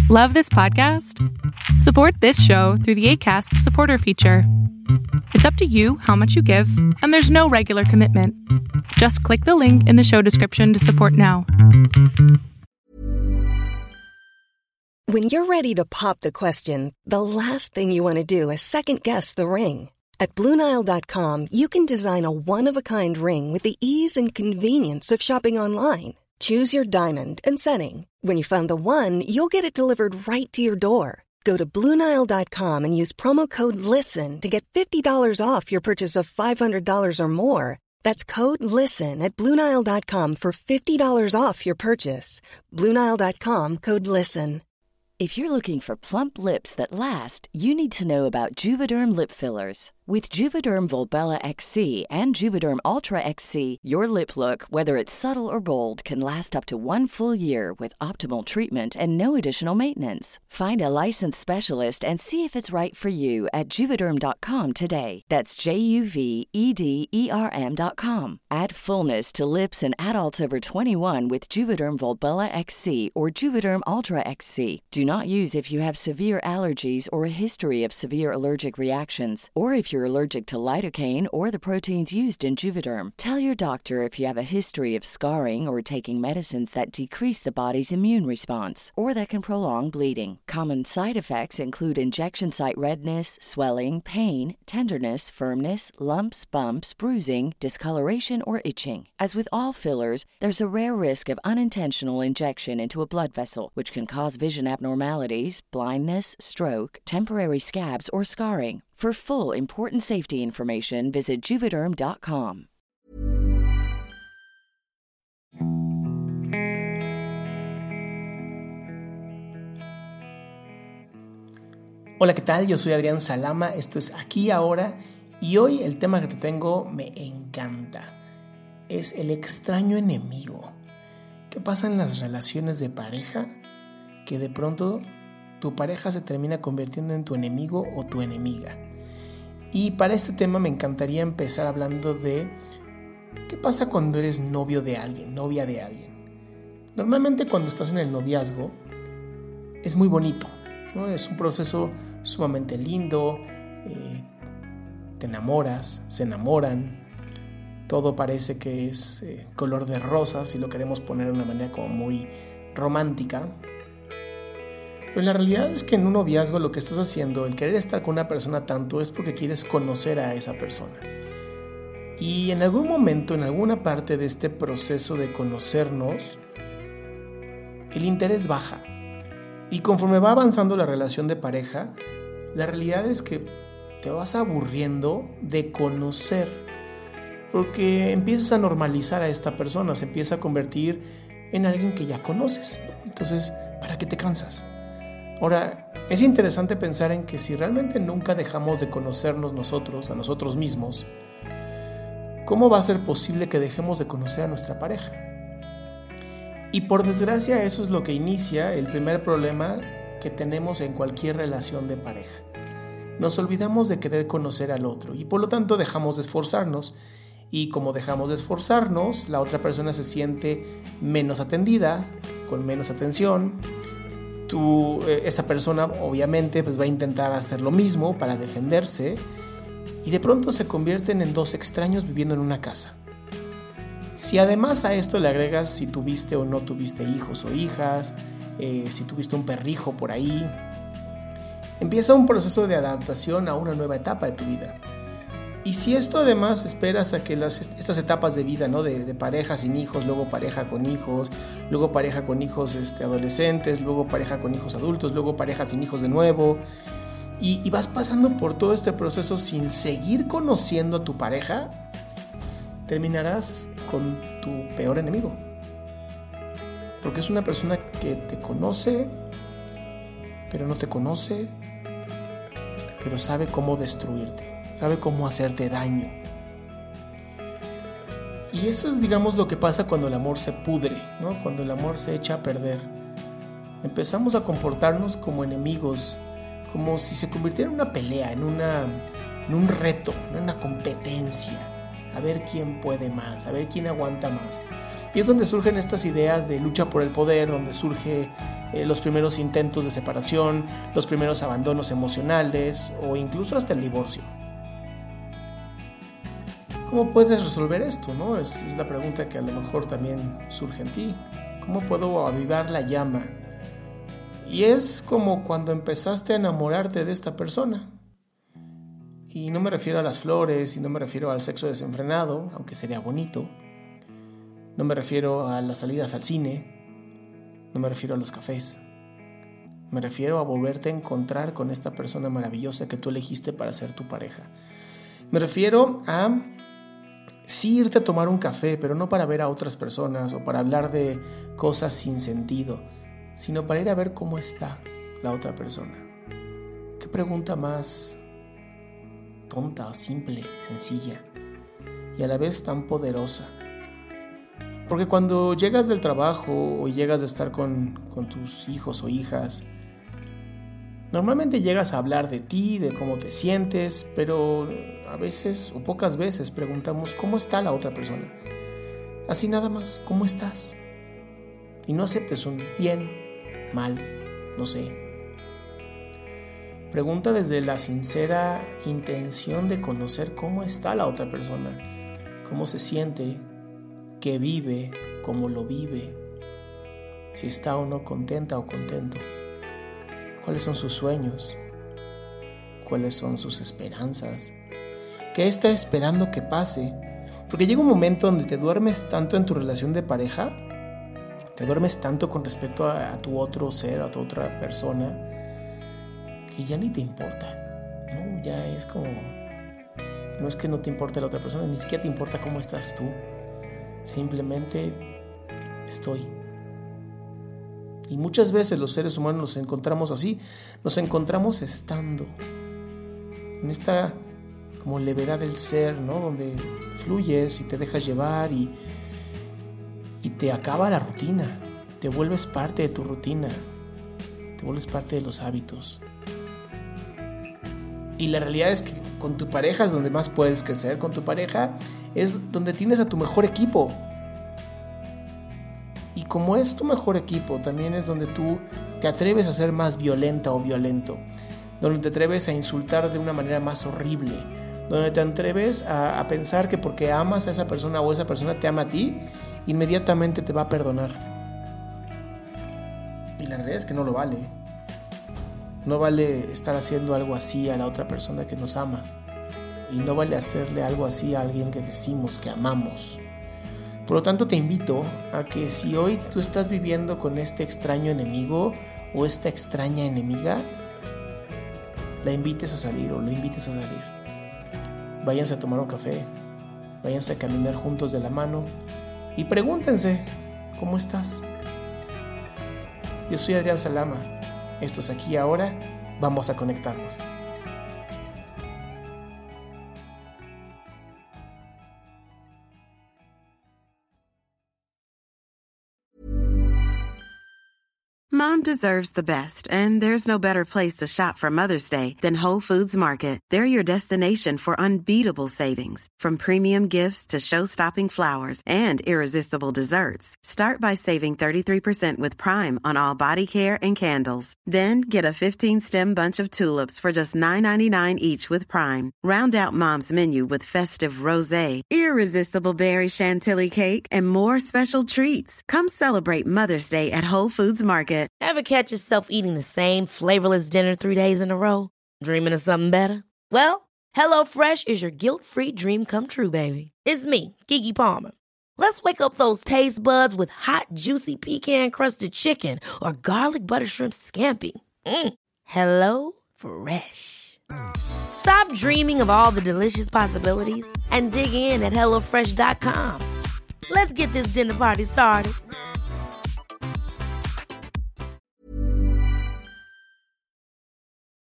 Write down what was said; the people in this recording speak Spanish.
Love this podcast? Support this show through the Acast supporter feature. It's up to you how much you give, and there's no regular commitment. Just click the link in the show description to support now. When you're ready to pop the question, the last thing you want to do is second-guess the ring. At BlueNile.com, you can design a one-of-a-kind ring with the ease and convenience of shopping online. Choose your diamond and setting. When you find the one, you'll get it delivered right to your door. Go to BlueNile.com and use promo code LISTEN to get $50 off your purchase of $500 or more. That's code LISTEN at BlueNile.com for $50 off your purchase. BlueNile.com, code LISTEN. If you're looking for plump lips that last, you need to know about Juvederm lip fillers. With Juvederm Volbella XC and Juvederm Ultra XC, your lip look, whether it's subtle or bold, can last up to 1 full year with optimal treatment and no additional maintenance. Find a licensed specialist and see if it's right for you at Juvederm.com today. That's JUVEDERM.com. Add fullness to lips in adults over 21 with Juvederm Volbella XC or Juvederm Ultra XC. Do not use if you have severe allergies or a history of severe allergic reactions, or if you're allergic to lidocaine or the proteins used in Juvederm. Tell your doctor if you have a history of scarring or taking medicines that decrease the body's immune response or that can prolong bleeding. Common side effects include injection site redness, swelling, pain, tenderness, firmness, lumps, bumps, bruising, discoloration, or itching. As with all fillers, there's a rare risk of unintentional injection into a blood vessel, which can cause vision abnormalities, blindness, stroke, temporary scabs, or scarring. For full, important safety information, visit Juvederm.com. Hola, ¿qué tal? Yo soy Adrián Salama, esto es Aquí Ahora, y hoy el tema que te tengo me encanta. Es el extraño enemigo. ¿Qué pasa en las relaciones de pareja? Que de pronto tu pareja se termina convirtiendo en tu enemigo o tu enemiga. Y para este tema me encantaría empezar hablando de qué pasa cuando eres novio de alguien, novia de alguien. Normalmente cuando estás en el noviazgo es muy bonito, ¿no? Es un proceso sumamente lindo, te enamoras, se enamoran, todo parece que es color de rosa, si lo queremos poner de una manera como muy romántica. Pero la realidad es que en un noviazgo lo que estás haciendo, el querer estar con una persona tanto, es porque quieres conocer a esa persona. Y en algún momento, en alguna parte de este proceso de conocernos, el interés baja. Y conforme va avanzando la relación de pareja, la realidad es que te vas aburriendo de conocer, porque empiezas a normalizar a esta persona, se empieza a convertir en alguien que ya conoces, ¿no? Entonces, ¿para qué te cansas? Ahora, es interesante pensar en que si realmente nunca dejamos de conocernos nosotros, a nosotros mismos, ¿cómo va a ser posible que dejemos de conocer a nuestra pareja? Y por desgracia eso es lo que inicia el primer problema que tenemos en cualquier relación de pareja. Nos olvidamos de querer conocer al otro y por lo tanto dejamos de esforzarnos. Y como dejamos de esforzarnos, la otra persona se siente menos atendida, con menos atención. Esta persona obviamente pues va a intentar hacer lo mismo para defenderse y de pronto se convierten en dos extraños viviendo en una casa. Si además a esto le agregas si tuviste o no tuviste hijos o hijas, si tuviste un perrijo por ahí, empieza un proceso de adaptación a una nueva etapa de tu vida. Y si esto además esperas a que estas etapas de vida, ¿no? de pareja sin hijos, luego pareja con hijos, luego pareja con hijos adolescentes, luego pareja con hijos adultos, luego pareja sin hijos de nuevo, y vas pasando por todo este proceso sin seguir conociendo a tu pareja, terminarás con tu peor enemigo. Porque es una persona que te conoce, pero no te conoce, pero sabe cómo destruirte. Sabe cómo hacerte daño. Y eso es, digamos, lo que pasa cuando el amor se pudre, ¿no? Cuando el amor se echa a perder. Empezamos a comportarnos como enemigos, como si se convirtiera en una pelea, en un reto, en una competencia. A ver quién puede más, a ver quién aguanta más. Y es donde surgen estas ideas de lucha por el poder, donde surge los primeros intentos de separación, los primeros abandonos emocionales o incluso hasta el divorcio. ¿Cómo puedes resolver esto, no? Es la pregunta que a lo mejor también surge en ti. ¿Cómo puedo avivar la llama? Y es como cuando empezaste a enamorarte de esta persona. Y no me refiero a las flores, y no me refiero al sexo desenfrenado, aunque sería bonito. No me refiero a las salidas al cine. No me refiero a los cafés. Me refiero a volverte a encontrar con esta persona maravillosa que tú elegiste para ser tu pareja. Me refiero a sí irte a tomar un café, pero no para ver a otras personas o para hablar de cosas sin sentido, sino para ir a ver cómo está la otra persona. ¿Qué pregunta más tonta, simple, sencilla y a la vez tan poderosa? Porque cuando llegas del trabajo o llegas de estar con tus hijos o hijas, normalmente llegas a hablar de ti, de cómo te sientes, pero a veces o pocas veces preguntamos ¿cómo está la otra persona? Así nada más, ¿cómo estás? Y no aceptes un bien, mal, no sé. Pregunta desde la sincera intención de conocer cómo está la otra persona, cómo se siente, qué vive, cómo lo vive, si está o no contenta o contento, cuáles son sus sueños, cuáles son sus esperanzas, qué está esperando que pase, porque llega un momento donde te duermes tanto en tu relación de pareja, te duermes tanto con respecto a tu otro ser, a tu otra persona, que ya ni te importa, ¿no? Ya es como, no es que no te importe la otra persona, ni siquiera te importa cómo estás tú, simplemente estoy. Y muchas veces los seres humanos nos encontramos así, nos encontramos estando en esta como levedad del ser, ¿no? Donde fluyes y te dejas llevar y te acaba la rutina, te vuelves parte de tu rutina, te vuelves parte de los hábitos. Y la realidad es que con tu pareja es donde más puedes crecer, con tu pareja es donde tienes a tu mejor equipo. Y como es tu mejor equipo, también es donde tú te atreves a ser más violenta o violento, donde te atreves a insultar de una manera más horrible, donde te atreves a pensar que porque amas a esa persona o esa persona te ama a ti, inmediatamente te va a perdonar. Y la realidad es que no lo vale. No vale estar haciendo algo así a la otra persona que nos ama. Y no vale hacerle algo así a alguien que decimos que amamos. Por lo tanto, te invito a que si hoy tú estás viviendo con este extraño enemigo o esta extraña enemiga, la invites a salir o lo invites a salir. Váyanse a tomar un café, váyanse a caminar juntos de la mano y pregúntense, ¿cómo estás? Yo soy Adrián Salama. Esto es Aquí y Ahora. Vamos a conectarnos. Mom deserves the best, and there's no better place to shop for Mother's Day than Whole Foods Market. They're your destination for unbeatable savings, from premium gifts to show-stopping flowers and irresistible desserts. Start by saving 33% with Prime on all body care and candles. Then get a 15-stem bunch of tulips for just $9.99 each with Prime. Round out Mom's menu with festive rosé, irresistible berry chantilly cake, and more special treats. Come celebrate Mother's Day at Whole Foods Market. Ever catch yourself eating the same flavorless dinner 3 days in a row? Dreaming of something better? Well, HelloFresh is your guilt-free dream come true, baby. It's me, Keke Palmer. Let's wake up those taste buds with hot, juicy pecan-crusted chicken or garlic butter shrimp scampi. Hello Fresh. Stop dreaming of all the delicious possibilities and dig in at HelloFresh.com. Let's get this dinner party started.